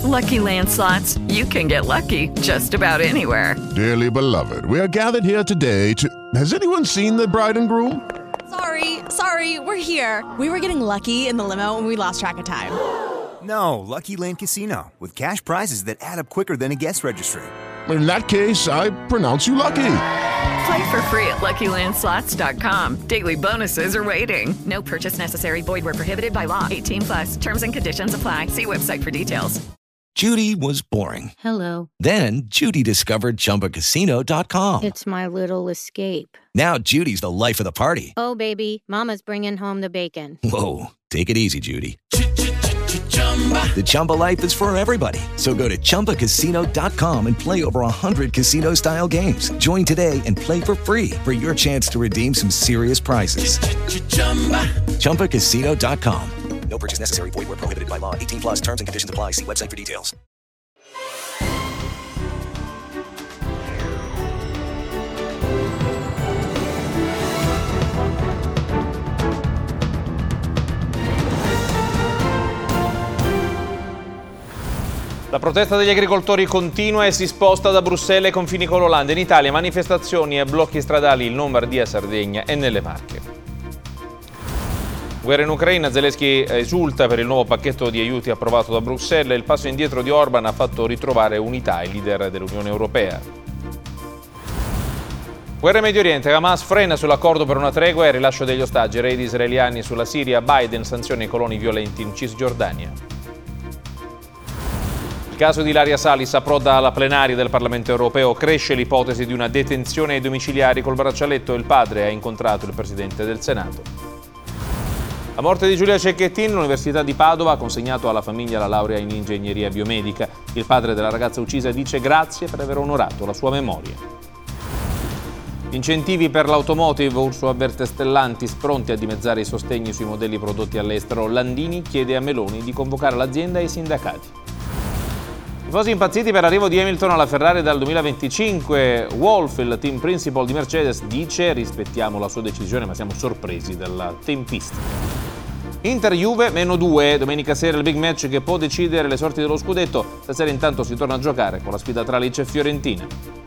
Lucky Land Slots, you can get lucky just about anywhere. Dearly beloved, we are gathered here today to... Has anyone seen the bride and groom? Sorry, we're here. We were getting lucky in the limo and we lost track of time. No, Lucky Land Casino, with cash prizes that add up quicker than a guest registry. In that case, I pronounce you lucky. Play for free at LuckyLandSlots.com. Daily bonuses are waiting. No purchase necessary. Void where prohibited by law. 18+. Terms and conditions apply. See website for details. Judy was boring. Hello. Then Judy discovered ChumbaCasino.com. It's my little escape. Now Judy's the life of the party. Oh, baby, mama's bringing home the bacon. Whoa, take it easy, Judy. The Chumba life is for everybody. So go to ChumbaCasino.com and play over 100 casino-style games. Join today and play for free for your chance to redeem some serious prizes. ChumbaCasino.com. No purchase necessary. Void where prohibited by law. 18+. Terms and conditions apply. See website for details. La protesta degli agricoltori continua e si sposta da Bruxelles ai confini con l'Olanda. In Italia manifestazioni e blocchi stradali in Lombardia, Sardegna e nelle Marche. Guerra in Ucraina, Zelensky esulta per il nuovo pacchetto di aiuti approvato da Bruxelles. Il passo indietro di Orban ha fatto ritrovare unità il leader dell'Unione Europea. Guerra in Medio Oriente, Hamas frena sull'accordo per una tregua e il rilascio degli ostaggi. Raid israeliani sulla Siria, Biden sanziona i coloni violenti in Cisgiordania. Il caso di Ilaria Salis approda alla plenaria del Parlamento europeo, cresce l'ipotesi di una detenzione ai domiciliari col braccialetto. Il padre ha incontrato il presidente del Senato. La morte di Giulia Cecchettin, l'Università di Padova ha consegnato alla famiglia la laurea in ingegneria biomedica. Il padre della ragazza uccisa dice grazie per aver onorato la sua memoria. Incentivi per l'automotive, Urso avverte Stellantis pronti a dimezzare i sostegni sui modelli prodotti all'estero. Landini chiede a Meloni di convocare l'azienda e i sindacati. Tifosi impazziti per l'arrivo di Hamilton alla Ferrari dal 2025. Wolff, il team principal di Mercedes, dice rispettiamo la sua decisione ma siamo sorpresi dalla tempistica. Inter-Juve -2, domenica sera il big match che può decidere le sorti dello scudetto. Stasera intanto si torna a giocare con la sfida tra Lecce e Fiorentina.